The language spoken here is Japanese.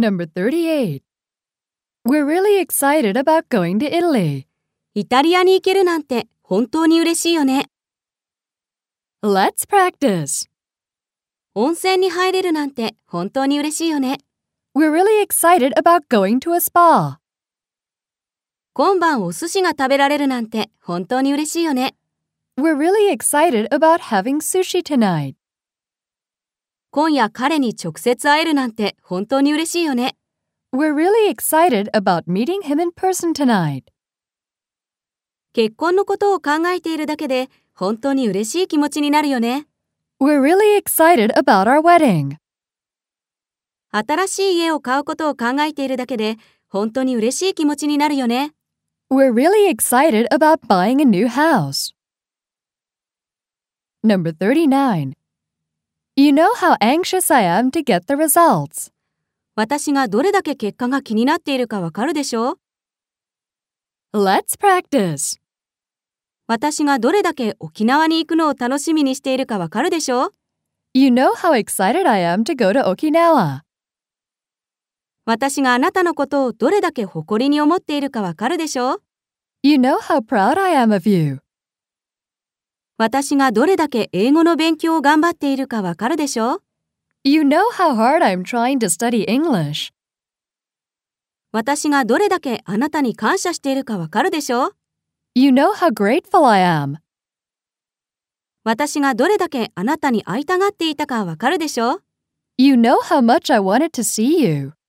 Number 38. We're really excited about going to Italy. イタリアに行けるなんて本当に嬉しいよね。 Let's practice. 温泉に入れるなんて本当に嬉しいよね。 We're really excited about going to a spa. 今晩お寿司が食べられるなんて本当に嬉しいよね。 We're really excited about having sushi tonight. 今夜彼に直接会えるなんて本当に嬉しいよね。 We're really excited about meeting him in person tonight. 結婚のことを考えているだけで本当に嬉しい気持ちになるよね。 We're really excited about our wedding. 新しい家を買うことを考えているだけで本当に嬉しい気持ちになるよね。 We're really excited about buying a new house. Number 39. You know how anxious I am to get the results. 私がどれだけ結果が気になっているかわかるでしょ？ Let's practice. 私がどれだけ沖縄に行くのを楽しみにしているかわかるでしょ？ You know how excited I am to go to Okinawa. 私があなたのことをどれだけ誇りに思っているかわかるでしょ？ You know how proud I am of you. 私がどれだけ英語の勉強を頑張っているかわかるでしょ？ You know how hard I'm trying to study English. 私がどれだけあなたに感謝しているかわかるでしょ？ You know how grateful I am. 私がどれだけあなたに会いたがっていたかわかるでしょ？ You know how much I wanted to see you.